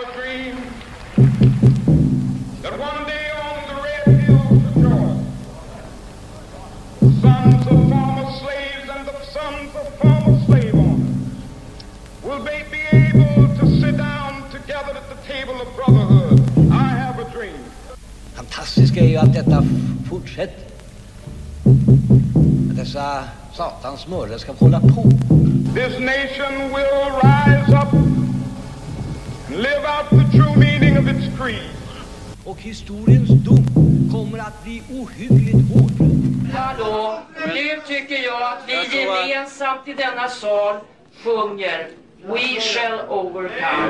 a dream that one day on the red hills of Georgia, sons of former slaves and the sons of former slave owners will they be able to sit down together at the table of brotherhood. I have a dream. Fantastiska är ju att detta fortsätter. Att dessa satans mördare ska hålla på. This nation will rise up and live out the true meaning of its creed. Och historiens dom kommer att bli ohyggligt hård. Hallå, nu tycker jag att vi gemensamt i denna sal sjunger We shall overcome.